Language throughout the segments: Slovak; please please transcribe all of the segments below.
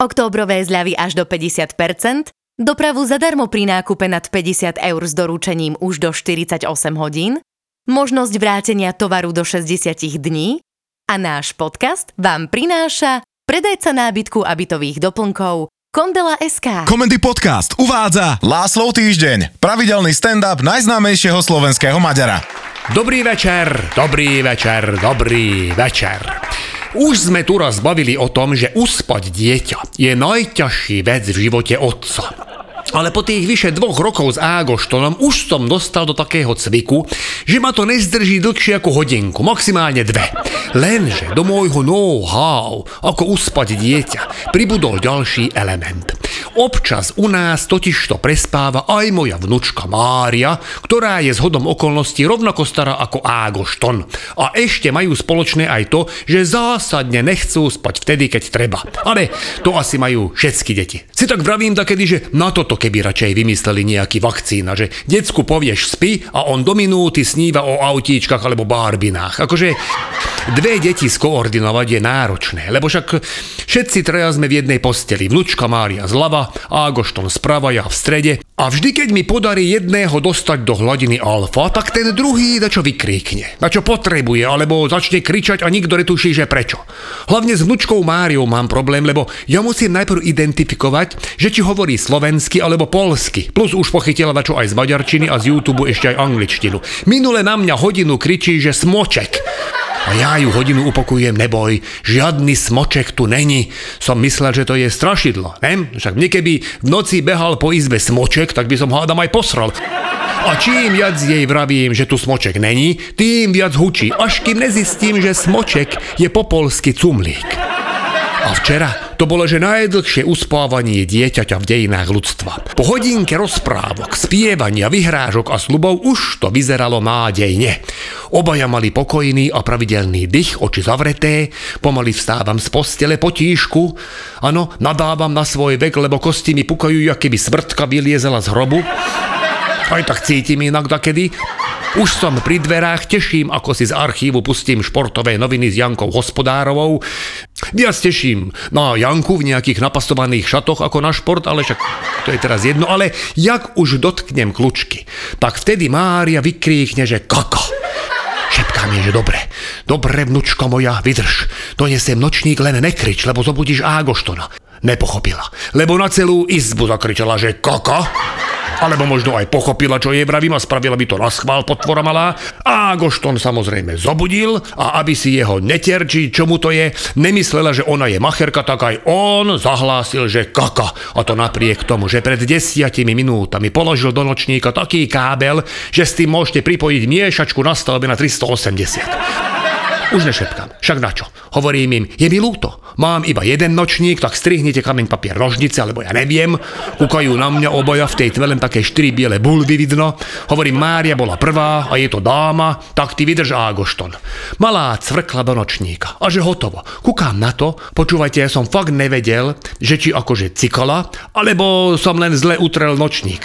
Októbrové zľavy až do 50%, dopravu zadarmo pri nákupe nad 50 eur s doručením už do 48 hodín, možnosť vrátenia tovaru do 60 dní a náš podcast vám prináša predajca nábytku a bytových doplnkov Kondela.sk. Komendy Podcast uvádza Láslov týždeň, pravidelný stand-up najznámejšieho slovenského Maďara. Dobrý večer. Už sme tu raz bavili o tom, že uspať dieťa je najťažší vec v živote otca. Ale po tých vyše 2 rokov s Ágoštonom už som dostal do takého cviku, že ma to nezdrží dlhšie ako hodinku, maximálne 2. Lenže do môjho know-how, ako uspať dieťa, pribudol ďalší element. Občas u nás totižto prespáva aj moja vnučka Mária, ktorá je zhodom okolností rovnako stará ako Ágošton. A ešte majú spoločné aj to, že zásadne nechcú spať vtedy, keď treba. Ale to asi majú všetky deti. Si tak vravím takedy, že na toto keby radšej vymysleli nejaký vakcína, že decku povieš spí a on do minúty sníva o autíčkach alebo barbinách. Akože 2 deti skoordinovať je náročné, lebo však všetci traja sme v jednej posteli. Vnučka Mária zľava, Ágošton sprava, ja v strede. A vždy, keď mi podarí jedného dostať do hladiny alfa, tak ten druhý dačo vykríkne, dačo potrebuje, alebo začne kričať a nikto netuší, že prečo. Hlavne s vnučkou Máriou mám problém, lebo ja musím najprv identifikovať, že či hovorí slovensky alebo polsky. Plus už pochytila dačo aj z maďarčiny a z YouTube ešte aj angličtinu. Minule na mňa hodinu kričí, že smoček. A ja ju hodinu upokujem, neboj, žiadny smoček tu není. Som myslel, že to je strašidlo, ne? Však mne keby v noci behal po izbe smoček, tak by som hádam aj posral. A čím viac jej vravím, že tu smoček není, tým viac hučí, až kým nezistím, že smoček je po polsky cumlík. A včera to bolo, že najdlhšie uspávanie dieťaťa v dejinách ľudstva. Po hodinke rozprávok, spievania, vyhrážok a sľubov už to vyzeralo nádejne. Obaja mali pokojný a pravidelný dych, oči zavreté, pomaly vstávam z postele potíšku. Áno, nadávam na svoj vek, lebo kosti mi pukajú, jak keby smrtka vyliezela z hrobu. Aj tak cítim inak dakedy. Už som pri dverách, teším, ako si z archívu pustím športové noviny s Jankou Hospodárovou. Viac teším na Janku v nejakých napasovaných šatoch ako na šport, ale však to je teraz jedno. Ale jak už dotknem kľúčky, tak vtedy Mária vykríkne, že kaka. Šepká mi, že dobre, vnučko moja, vydrž. Donesem nočník, len nekrič, lebo zobudíš Ágoštona. Nepochopila, lebo na celú izbu zakričala, že kaka. Alebo možno aj pochopila, čo jej vravím a spravila by to naschvál, potvora malá. A Ágošton samozrejme zobudil a aby si jeho neterčí, čo mu to je, nemyslela, že ona je macherka, tak aj on zahlásil, že kaka. A to napriek tomu, že pred 10 minútami položil do nočníka taký kábel, že s tým môžete pripojiť miešačku na stavbe na 380. Už nešepkám, však načo? Hovorím im, je mi ľúto, mám iba jeden nočník, tak strihnite kameň, papier, nožnice, alebo ja neviem. Kúkajú na mňa obaja, v tej tme len také 4 biele bulvy vidno. Hovorím, Mária bola prvá a je to dáma, tak ty vydrž Ágošton. Malá cvrkla do nočníka a že hotovo. Kúkam na to, počúvajte, ja som fakt nevedel, že či akože cikala, alebo som len zle utrel nočník.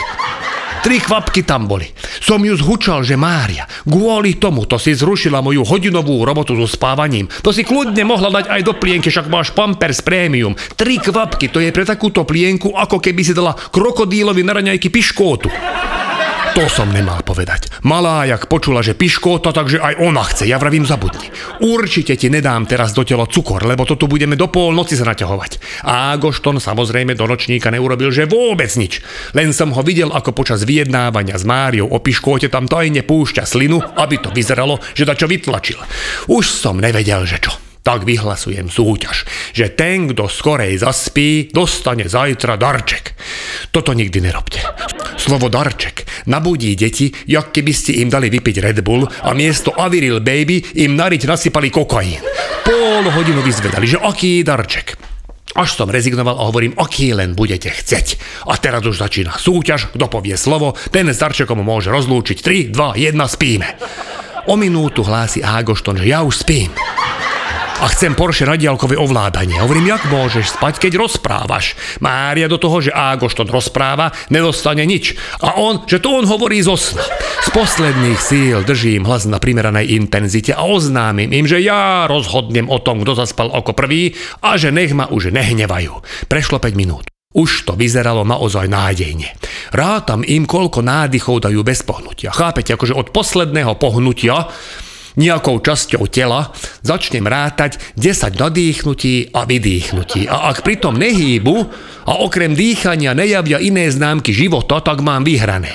3 kvapky tam boli. Som ju zhučal, že Mária, kvôli tomu to si zrušila moju hodinovú robotu so spávaním. To si kľudne mohla dať aj do plienky, však máš Pampers Premium. 3 kvapky, to je pre takúto plienku, ako keby si dala krokodílovi na raňajky piškótu. To som nemal povedať. Malá jak počula, že piškóta, takže aj ona chce. Ja vravím, zabudni. Určite ti nedám teraz do tela cukor, lebo to tu budeme do polnoci sa naťahovať. A Ágošton samozrejme do nočníka neurobil, že vôbec nič. Len som ho videl, ako počas vyjednávania s Máriou o piškóte tam tajne púšťa slinu, aby to vyzeralo, že dačo vytlačil. Už som nevedel, že čo. Tak vyhlasujem súťaž, že ten, kto skorej zaspí, dostane zajtra darček. Toto nikdy nerobte. Slovo darček nabudí deti, jak keby ste im dali vypiť Red Bull a miesto Aviril Baby im nariť nasypali kokain. Pol hodinu vyzvedali, že aký darček. Až som rezignoval a hovorím, aký len budete chceť. A teraz už začína súťaž, kto povie slovo, ten s darčekom môže rozlúčiť. 3, 2, 1, spíme. O minútu hlási Ágošton, že ja už spím. A chcem Porsche na diaľkové ovládanie. Hovorím, jak môžeš spať, keď rozprávaš? Mária do toho, že Ágošton rozpráva, nedostane nič. A on, že to on hovorí zo sna. Z posledných síl držím hlas na primeranej intenzite a oznámim im, že ja rozhodnem o tom, kto zaspal ako prvý a že nech ma už nehnevajú. Prešlo 5 minút. Už to vyzeralo naozaj nádejne. Rátam im, koľko nádychov dajú bez pohnutia. Chápete, akože od posledného pohnutia nejakou časťou tela začnem rátať 10 nadýchnutí a vydýchnutí. A ak pritom nehýbu a okrem dýchania nejavia iné známky života, tak mám vyhrané.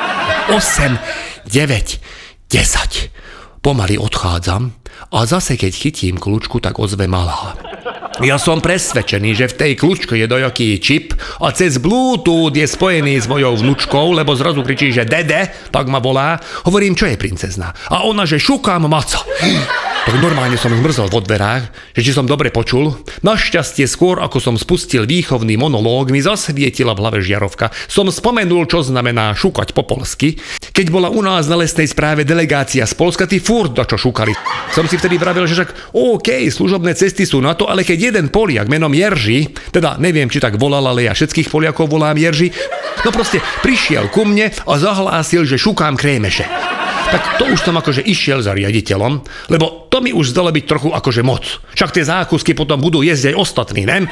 8, 9, 10. Pomaly odchádzam a zase keď chytím kľúčku, tak ozve malá. Ja som presvedčený, že v tej kľúčke je dojaký čip a cez Bluetooth je spojený s mojou vnučkou, lebo zrazu kričí, že dede, tak ma volá. Hovorím, čo je princezna? A ona, že šukám maca. Tak normálne som zmrzol vo dverách, že či som dobre počul. Našťastie skôr, ako som spustil výchovný monológ, mi zasvietila v hlave žiarovka. Som spomenul, čo znamená šukať po polsky. Keď bola u nás na lesnej správe delegácia z Polska, tí furt dačo šukali. Som si vtedy vravel, že však OK, služobné cesty sú na to, ale keď jeden Poliak menom Jerži, teda neviem, či tak volal, ale ja všetkých Poliakov volám Jerži, no proste prišiel ku mne a zahlásil, že šukám krémeše. Tak to už som akože išiel za riaditeľom, lebo to mi už zdalo byť trochu akože moc. Však tie zákusky potom budú jesť aj ostatní, ne?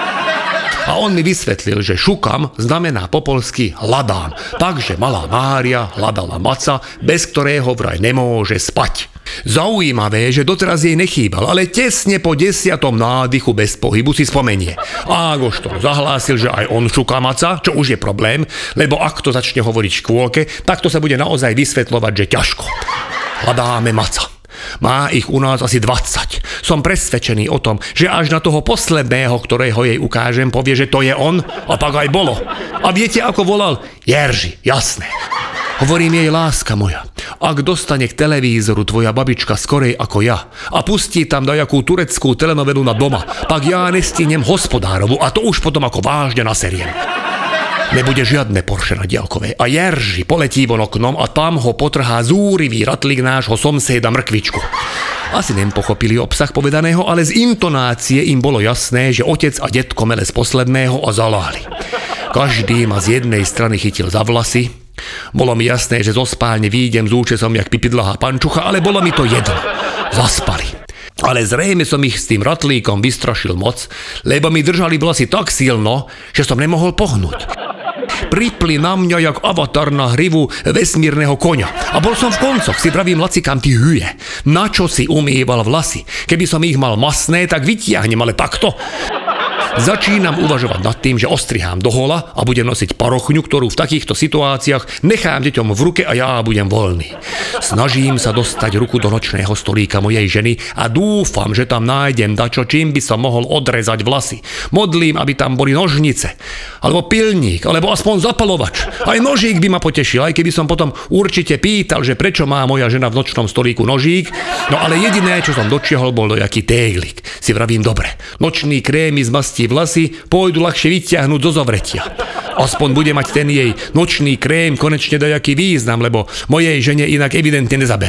A on mi vysvetlil, že šukam znamená po polsky hľadám. Takže malá Mária hľadala maca, bez ktorého vraj nemôže spať. Zaujímavé, že doteraz jej nechýbal, ale tesne po 10. nádychu bez pohybu si spomenie. Ágošton zahlásil, že aj on šuká maca, čo už je problém, lebo ak to začne hovoriť škôlke, tak to sa bude naozaj vysvetľovať, že ťažko. Hľadáme maca. Má ich u nás asi 20. Som presvedčený o tom, že až na toho posledného, ktorého jej ukážem, povie, že to je on, a tak aj bolo. A viete, ako volal? Jerži, jasné. Hovorím jej, láska moja, ak dostane k televízoru tvoja babička skorej ako ja a pustí tam dajakú tureckú telenovelu na doma, tak ja nestihnem hospodárovu a to už potom ako vážne naseriem. Nebude žiadne Porsche na diaľkové a Jerži poletí von oknom a tam ho potrhá zúrivý ratlík nášho somséda Mrkvičku. Asi nepochopili obsah povedaného, ale z intonácie im bolo jasné, že otec a detko mele z posledného a zaláli. Každý ma z jednej strany chytil za vlasy. Bolo mi jasné, že zo spálne výjdem s účesom jak pipidlahá pančucha, ale bolo mi to jedno. Zaspali. Ale zrejme som ich s tým ratlíkom vystrašil moc, lebo mi držali vlasy tak silno, že som nemohol pohnúť. Pripli na mňa jak avatar na hrivu vesmírneho koňa. A bol som v koncoch, si pravím, lacikám, ty huje. Na čo si umýval vlasy? Keby som ich mal masné, tak vytiahnem, ale takto. Začínam uvažovať nad tým, že ostrihám do hola a budem nosiť parochňu, ktorú v takýchto situáciách nechám deťom v ruke a ja budem voľný. Snažím sa dostať ruku do nočného stolíka mojej ženy a dúfam, že tam nájdem dačo, čím by som mohol odrezať vlasy. Modlím, aby tam boli nožnice, alebo pilník, alebo aspoň zapalovač. Aj nožík by ma potešil, aj keby som potom určite pýtal, že prečo má moja žena v nočnom stolíku nožík. No ale jediné, čo som dočiahol, bol dojaký téglik. Si vravím, dobre, nočný krémy zmastí vlasy, pôjdu ľahšie vyťahnuť zo zovretia. Aspoň bude mať ten jej nočný krém konečne dajaký význam, lebo mojej žene inak evidentne nezaberá.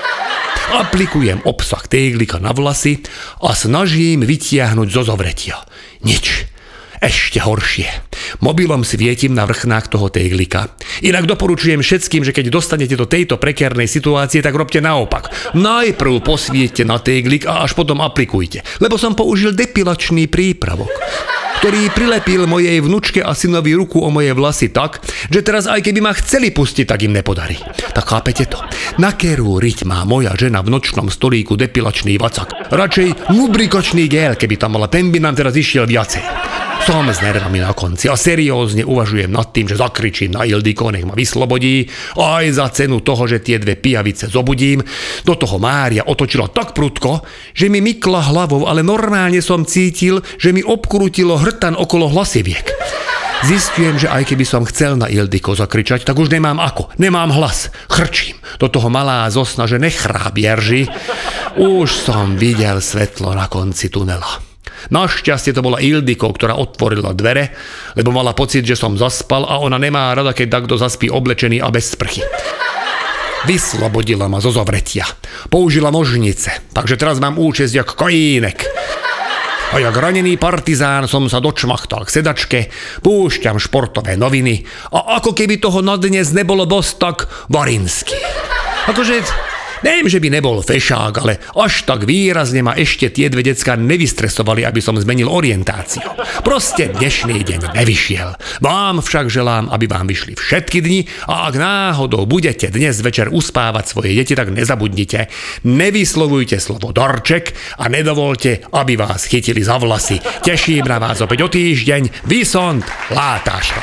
Aplikujem obsah téglika na vlasy a snažím vytiahnuť zo zovretia. Nič. Ešte horšie. Mobilom svietim na vrchnách toho téglika. Inak doporučujem všetkým, že keď dostanete do tejto prekérnej situácie, tak robte naopak. Najprv posviete na téglik a až potom aplikujte. Lebo som použil depilačný prípravok, ktorý prilepil mojej vnučke a synovi ruku o moje vlasy tak, že teraz aj keby ma chceli pustiť, tak im nepodarí. Tak chápete to? Na kerú riť má moja žena v nočnom stolíku depilačný vacak. Radšej lubrikačný gel, keby tam mala, ten by nám teraz išiel viacej. Som s nervami na konci a seriózne uvažujem nad tým, že zakričím na Ildiko, nech ma vyslobodí, aj za cenu toho, že tie dve pijavice zobudím. Do toho Mária otočila tak prudko, že mi mykla hlavou, ale normálne som cítil, že mi obkrútilo hrtan okolo hlasiviek. Zistujem, že aj keby som chcel na Ildiko zakričať, tak už nemám ako. Nemám hlas. Chrčím. Do toho malá zosna, že nechráp Jerži. Už som videl svetlo na konci tunela. Našťastie to bola Ildiko, ktorá otvorila dvere, lebo mala pocit, že som zaspal a ona nemá rada, keď takto zaspí oblečený a bez sprchy. Vyslobodila ma zo zovretia. Použila nožnice, takže teraz mám účesť jak kojínek. A jak ranený partizán som sa dočmachtal k sedačke, púšťam športové noviny a ako keby toho na dnes nebolo dosť, tak Varinsky. Akože, neviem, že by nebol fešák, ale až tak výrazne ma ešte tie dve decká nevystresovali, aby som zmenil orientáciu. Proste dnešný deň nevyšiel. Vám však želám, aby vám vyšli všetky dni a ak náhodou budete dnes večer uspávať svoje deti, tak nezabudnite. Nevyslovujte slovo darček a nedovolte, aby vás chytili za vlasy. Teším na vás opäť o týždeň. Vysont, Látáško.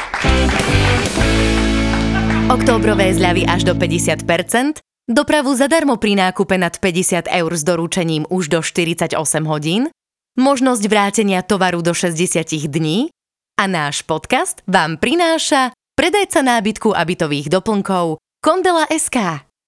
Októbrové zľavy až do 50%, dopravu zadarmo pri nákupe nad 50 eur s doručením už do 48 hodín, možnosť vrátenia tovaru do 60 dní a náš podcast vám prináša predajca nábytku a bytových doplnkov Kondela.sk.